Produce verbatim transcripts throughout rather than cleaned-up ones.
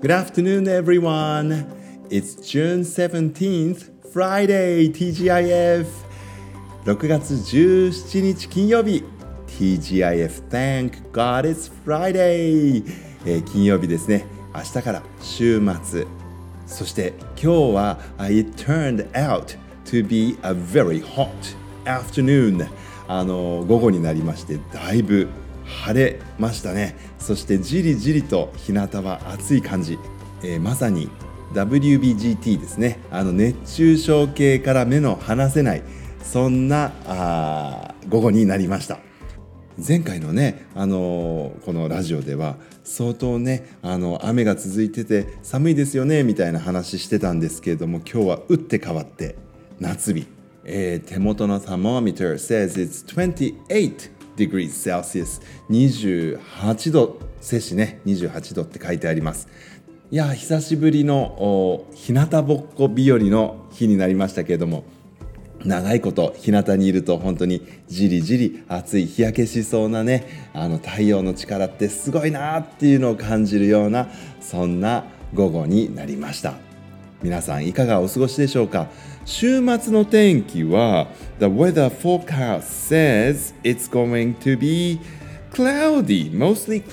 Good afternoon, everyone. It's June seventeenth, Friday, ティージーアイエフ。ろくがつじゅうしちにち金曜日、ティージーアイエフ Thank God it's Friday、えー、金曜日ですね。明日から週末。そして今日は It turned out to be a very hot afternoon。あの午後になりましてだいぶ晴れましたね。そしてじりじりと日向は暑い感じ、えー、まさに ダブリュービージーティー ですね。あの熱中症系から目の離せないそんなあ午後になりました。前回のね、あのー、このラジオでは相当ね、あの雨が続いてて寒いですよねみたいな話してたんですけれども、今日は打って変わって夏日、えー、手元の thermometer says it's twenty-eight degrees Celsius、 にじゅうはちど摂氏ね、にじゅうはちどって書いてあります。いや久しぶりの日向ぼっこ日和の日になりましたけれども、長いこと日向にいると本当にじりじり暑い、日焼けしそうなね、あの太陽の力ってすごいなっていうのを感じるようなそんな午後になりました。皆さんいかがお過ごしでしょうか。週末の天気は The weather forecast says it's going to be cloudy, mostly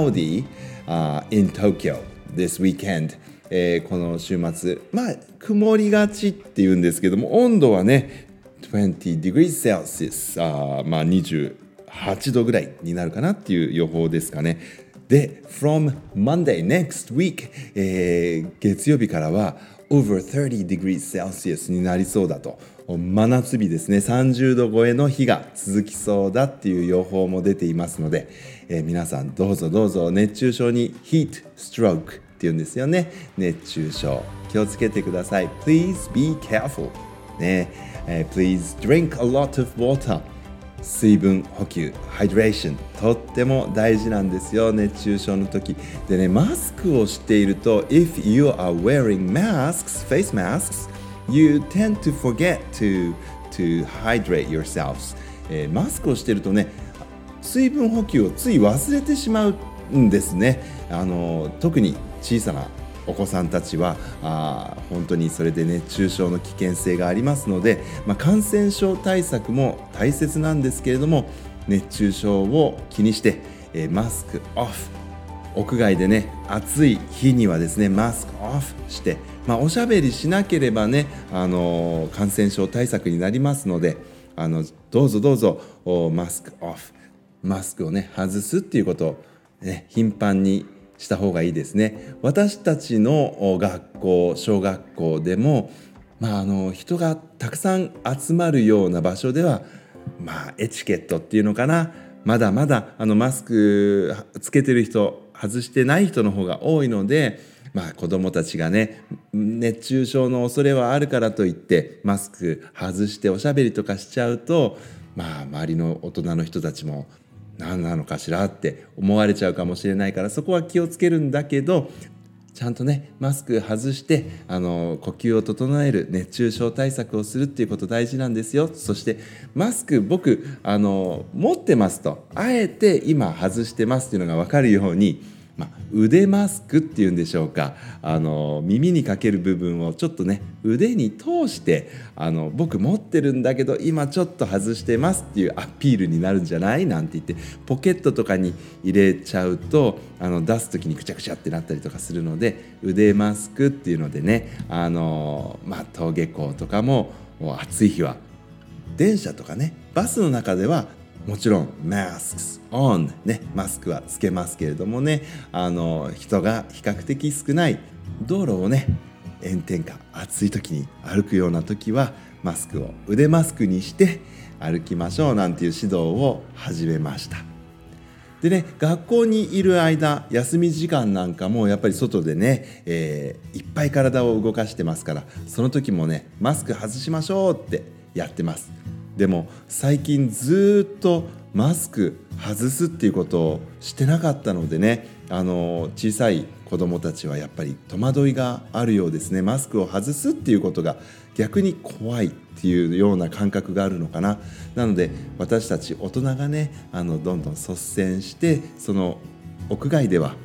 cloudy、uh, in Tokyo this weekend。えー、この週末、まあ曇りがちっていうんですけども、温度はねtwenty degrees Celsius、あまあにじゅうはちどぐらいになるかなっていう予報ですかね。で from Monday next week、えー、月曜日からは over thirty degrees Celsius になりそうだと、真夏日ですね、さんじゅうど超えの日が続きそうだっていう予報も出ていますので、えー、皆さんどうぞどうぞ熱中症に heat strokeっていうんですよね。熱中症気をつけてください。 Please be careful、ねえー、Please drink a lot of water。 水分補給 Hydration とっても大事なんですよ、熱中症の時でね。マスクをしていると If you are wearing masks, face masks, you tend to forget to, to hydrate yourselves、えー、マスクをしているとね、水分補給をつい忘れてしまうんですね。あの特に小さなお子さんたちはあ本当にそれで熱中症の危険性がありますので、まあ、感染症対策も大切なんですけれども、熱中症を気にして、えー、マスクオフ、屋外でね暑い日にはですねマスクオフして、まあ、おしゃべりしなければね、あのー、感染症対策になりますので、あのどうぞどうぞマスクオフ、マスクをね外すっていうことを、ね、頻繁にした方がいいですね。私たちの学校、小学校でも、まあ、あの人がたくさん集まるような場所では、まあ、エチケットっていうのかな、まだまだあのマスクつけてる人外してない人の方が多いので、まあ、子どもたちがね熱中症の恐れはあるからといってマスク外しておしゃべりとかしちゃうと、まあ、周りの大人の人たちも何なのかしらって思われちゃうかもしれないから、そこは気をつけるんだけど、ちゃんとねマスク外してあの呼吸を整える、熱中症対策をするっていうこと大事なんですよ。そしてマスク僕あの持ってますと、あえて今外してますっていうのが分かるように、まあ、腕マスクっていうんでしょうか、あの耳にかける部分をちょっとね腕に通して、あの僕持ってるんだけど今ちょっと外してますっていうアピールになるんじゃないなんて言って、ポケットとかに入れちゃうとあの出す時にくちゃくちゃってなったりとかするので、腕マスクっていうのでね、あの、まあ、登下校とかも暑い日は電車とかねバスの中ではもちろん masks on、ね、マスクはつけますけれどもね、あの人が比較的少ない道路をね炎天下暑い時に歩くような時はマスクを腕マスクにして歩きましょうなんていう指導を始めました。でね、学校にいる間休み時間なんかもやっぱり外でね、えー、いっぱい体を動かしてますから、その時もねマスク外しましょうってやってます。でも最近ずっとマスク外すっていうことをしてなかったのでね、あの小さい子どもたちはやっぱり戸惑いがあるようですね。マスクを外すっていうことが逆に怖いっていうような感覚があるのかな。なので私たち大人がね、あのどんどん率先してその屋外では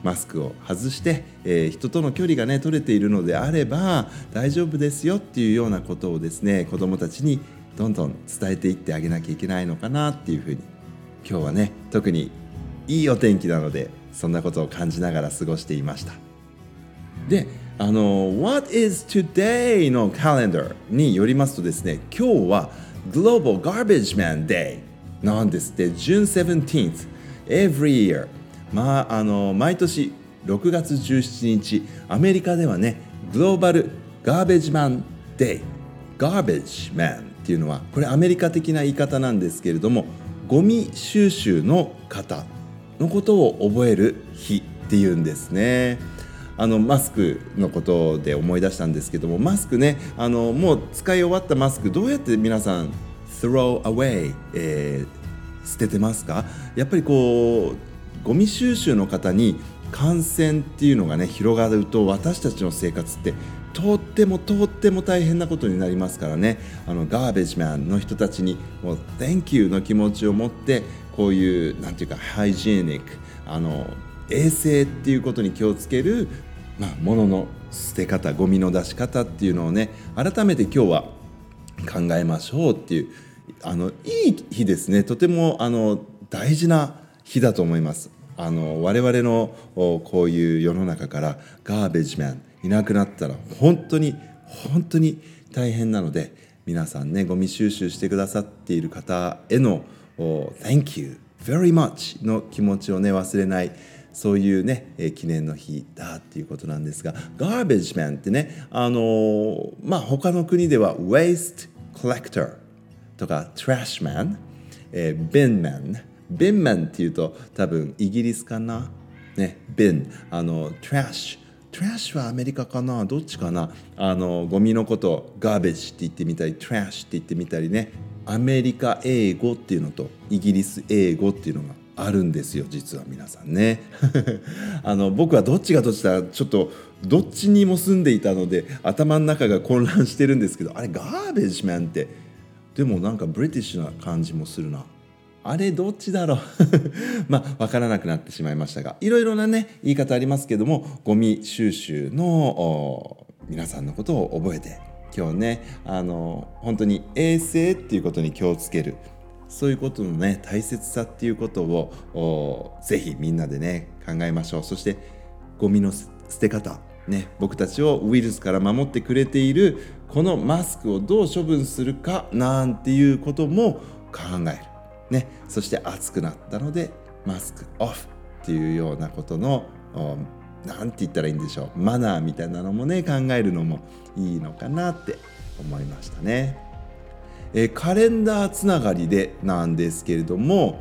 マスクを外して、えー、人との距離がね取れているのであれば大丈夫ですよっていうようなことをですね、子どもたちにどんどん伝えていってあげなきゃいけないのかなっていうふうに、今日はね特にいいお天気なのでそんなことを感じながら過ごしていました。で、あの What is today のカレンダーによりますとですね、今日は Global Garbage Man Day なんですって。 June seventeenth every year、 まあ、あの毎年ろくがつじゅうしちにち、アメリカではねグローバルガーベージマンデイ、ガーベージマンっていうのはこれアメリカ的な言い方なんですけれども、ゴミ収集の方のことを覚える日っていうんですね。あのマスクのことで思い出したんですけども、マスクね、あのもう使い終わったマスクどうやって皆さん throw away、えー、捨ててますか？やっぱりこうゴミ収集の方に感染っていうのがね広がると、私たちの生活ってとってもとっても大変なことになりますからね。あのガーベージマンの人たちにもう Thank you の気持ちを持って、こういうなんていうかハイジーニック、あの衛生っていうことに気をつける、まあ、物の捨て方、ゴミの出し方っていうのをね改めて今日は考えましょうっていう、あのいい日ですね。とてもあの大事な日だと思います。あの我々のこういう世の中からガーベージマンいなくなったら本当に本当に大変なので、皆さんねゴミ収集してくださっている方への Thank you very much の気持ちをね忘れない、そういうね、えー、記念の日だっていうことなんですが、ガーベージマンってね、あのー、まあ他の国では Waste Collector とか Trash Man、えー、Bin Man、Bin Man っていうと多分イギリスかな、ね、Bin、あの Trash、Trash はアメリカかな、どっちかな、あのゴミのことを Garbage って言ってみたり Trash って言ってみたりね、アメリカ英語っていうのとイギリス英語っていうのがあるんですよ、実は皆さんねあの僕はどっちがどっちだちょっとどっちにも住んでいたので頭の中が混乱してるんですけど、あれガーベージマンってでもなんかブリティッシュな感じもするな、あれどっちだろうまあ分からなくなってしまいましたが、いろいろなね言い方ありますけども、ゴミ収集の皆さんのことを覚えて、今日ねあの本当に衛生っていうことに気をつける、そういうことのね大切さっていうことをぜひみんなでね考えましょう。そしてゴミの捨て方ね、僕たちをウイルスから守ってくれているこのマスクをどう処分するかなんていうことも考えるね。そして暑くなったのでマスクオフっていうようなことのなんて言ったらいいんでしょう、マナーみたいなのもね考えるのもいいのかなって思いましたね。えー、カレンダーつながりでなんですけれども、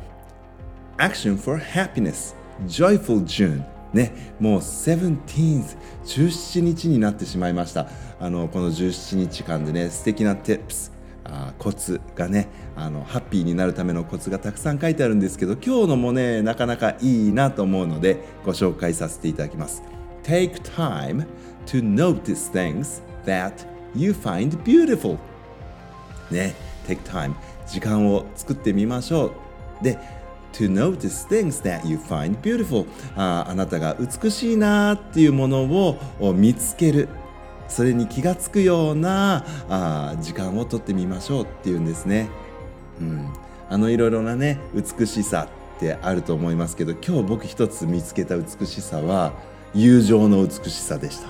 Action for Happiness Joyful June ね、もう セブンティーンズ じゅうしちにちになってしまいました。あのこのじゅうしちにちかんでね素敵な tips、 あコツがね、あのハッピーになるためのコツがたくさん書いてあるんですけど、今日のもねなかなかいいなと思うのでご紹介させていただきます。 Take time to notice things that you find beautiful ね、take time 時間を作ってみましょう。でTo notice things that you find beautiful、 あ, あなたが美しいなっていうものを見つける、それに気がつくようなあ時間をとってみましょうっていうんですね。うん、あのいろいろなね美しさってあると思いますけど、今日僕一つ見つけた美しさは友情の美しさでした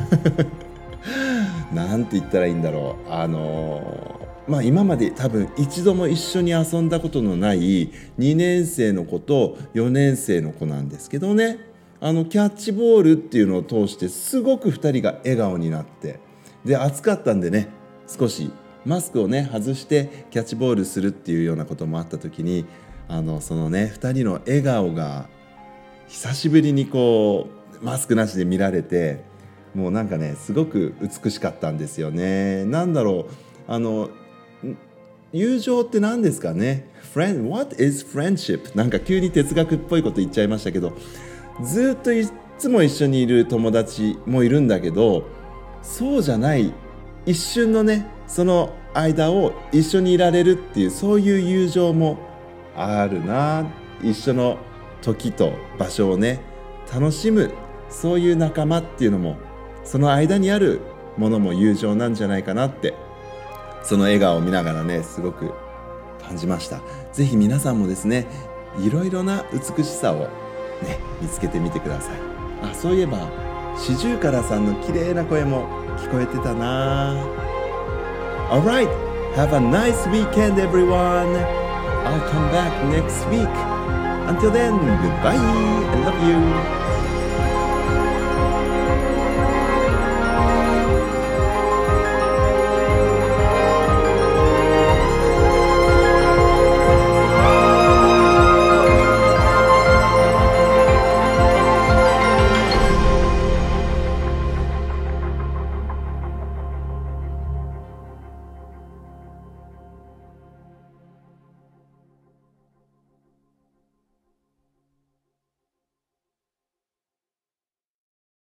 なんて言ったらいいんだろう、あのーまあ、今まで多分一度も一緒に遊んだことのないにねん生の子とよねん生の子なんですけどね、あのキャッチボールっていうのを通してすごくふたりが笑顔になって、で暑かったんでね少しマスクをね外してキャッチボールするっていうようなこともあった時に、あのそのねふたりの笑顔が久しぶりにこうマスクなしで見られて、もうなんかねすごく美しかったんですよね。なんだろう、あの友情って何ですかね。 Friend, What is friendship? なんか急に哲学っぽいこと言っちゃいましたけど、ずっといつも一緒にいる友達もいるんだけど、そうじゃない一瞬のねその間を一緒にいられるっていう、そういう友情もあるな。一緒の時と場所をね楽しむ、そういう仲間っていうのも、その間にあるものも友情なんじゃないかなって、その笑顔を見ながらね、すごく感じました。ぜひ皆さんもですね、いろいろな美しさをね、見つけてみてください。あ、そういえばシジュウカラさんの綺麗な声も聞こえてたな。 Alright, have a nice weekend everyone. I'll come back next week. Until then, goodbye. I love you.